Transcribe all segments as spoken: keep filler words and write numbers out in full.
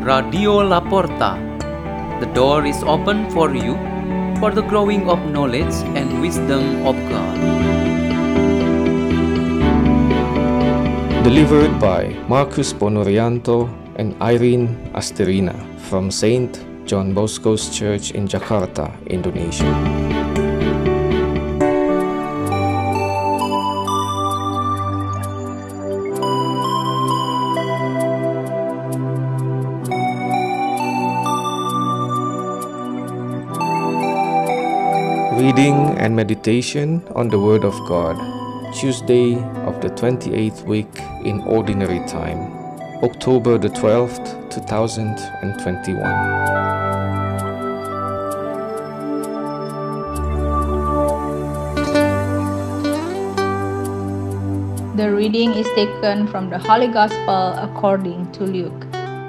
Radio Laporta. The door is open for you for the growing of knowledge and wisdom of God. Delivered by Marcus Ponorianto and Irene Asterina from Saint John Bosco's Church in Jakarta, Indonesia. Reading and meditation on the Word of God, Tuesday of the twenty-eighth week in Ordinary Time, October the twelfth, two thousand twenty-one. The reading is taken from the Holy Gospel according to Luke.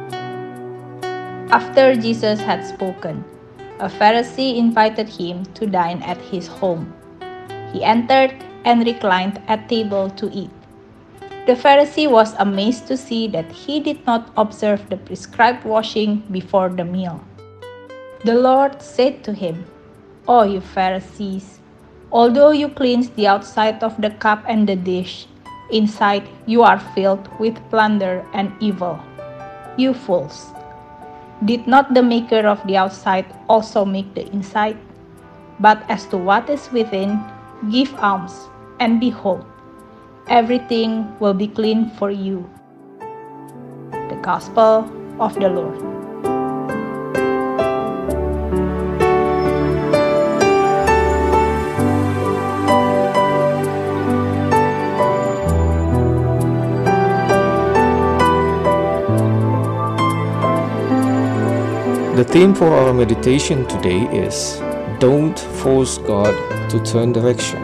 After Jesus had spoken, a Pharisee invited him to dine at his home. He entered and reclined at table to eat. The Pharisee was amazed to see that he did not observe the prescribed washing before the meal. The Lord said to him, "O you Pharisees, although you cleanse the outside of the cup and the dish, inside you are filled with plunder and evil. You fools! Did not the maker of the outside also make the inside? But as to what is within, give alms, and behold, everything will be clean for you." The Gospel of the Lord. The theme for our meditation today is Don't Force God to Turn Direction.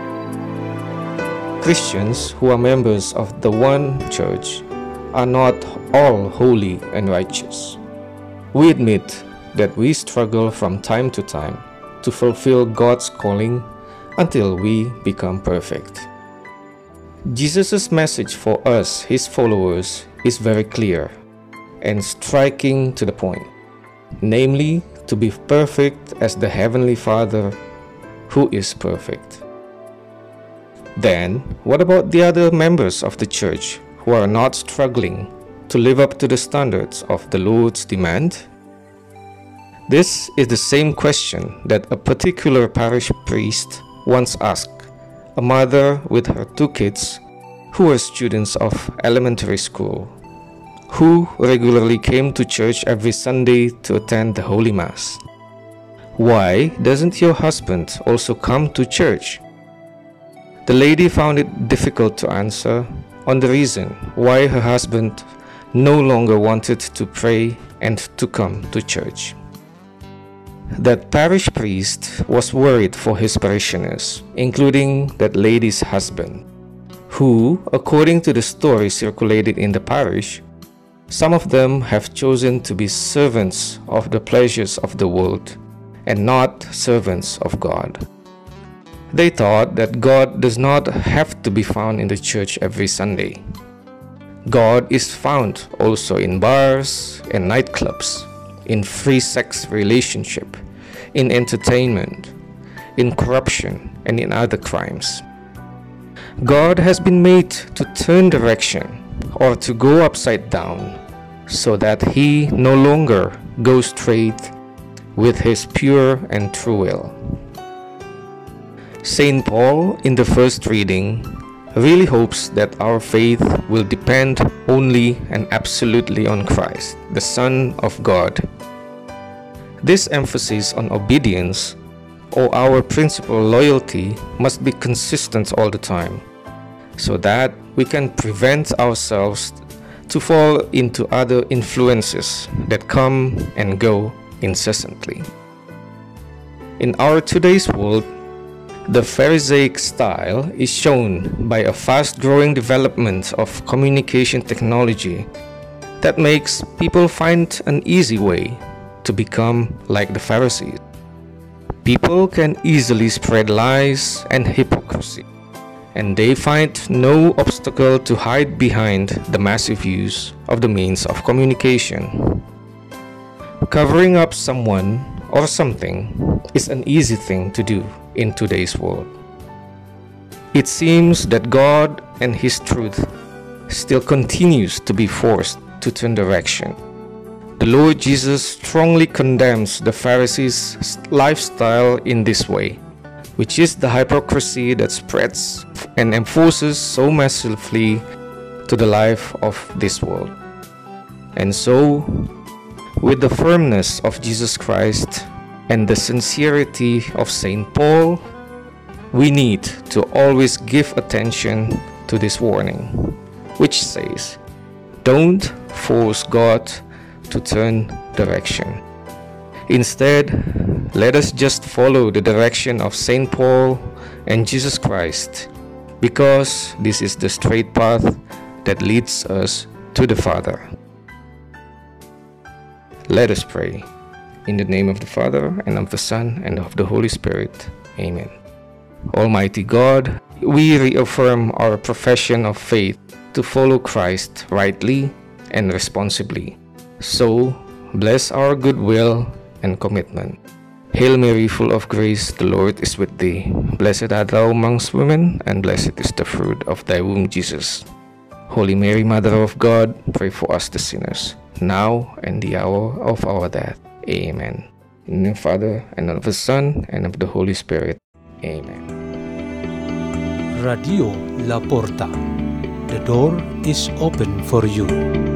Christians who are members of the one church are not all holy and righteous. We admit that we struggle from time to time to fulfill God's calling until we become perfect. Jesus' message for us, his followers, is very clear and striking to the point. Namely, to be perfect as the Heavenly Father, who is perfect. Then, what about the other members of the church who are not struggling to live up to the standards of the Lord's demand? This is the same question that a particular parish priest once asked a mother with her two kids who were students of elementary school, who regularly came to church every Sunday to attend the Holy Mass. "Why doesn't your husband also come to church?" The lady found it difficult to answer on the reason why her husband no longer wanted to pray and to come to church. That parish priest was worried for his parishioners, including that lady's husband, who, according to the story circulated in the parish, some of them have chosen to be servants of the pleasures of the world and not servants of God. They thought that God does not have to be found in the church every Sunday. God is found also in bars and nightclubs, in free sex relationship, in entertainment, in corruption, and in other crimes. God has been made to turn direction or to go upside down, so that he no longer goes straight with his pure and true will. Saint Paul, in the first reading, really hopes that our faith will depend only and absolutely on Christ, the Son of God. This emphasis on obedience or our principal loyalty must be consistent all the time, so that we can prevent ourselves to fall into other influences that come and go incessantly. In our today's world, the Pharisaic style is shown by a fast-growing development of communication technology that makes people find an easy way to become like the Pharisees. People can easily spread lies and hypocrisy, and they find no obstacle to hide behind the massive use of the means of communication. Covering up someone or something is an easy thing to do in today's world. It seems that God and His truth still continues to be forced to turn direction. The Lord Jesus strongly condemns the Pharisees' lifestyle in this way, which is the hypocrisy that spreads and enforces so massively to the life of this world. And so, with the firmness of Jesus Christ and the sincerity of Saint Paul, we need to always give attention to this warning, which says, don't force God to turn direction. Instead, let us just follow the direction of Saint Paul and Jesus Christ, because this is the straight path that leads us to the Father. Let us pray. In the name of the Father, and of the Son, and of the Holy Spirit. Amen. Almighty God, we reaffirm our profession of faith to follow Christ rightly and responsibly. So, bless our goodwill and commitment. Hail Mary, full of grace, the Lord is with thee. Blessed art thou amongst women, and blessed is the fruit of thy womb, Jesus. Holy Mary, Mother of God, pray for us the sinners, now and the hour of our death. Amen. In the name of the Father, and of the Son, and of the Holy Spirit. Amen. Radio La Porta. The door is open for you.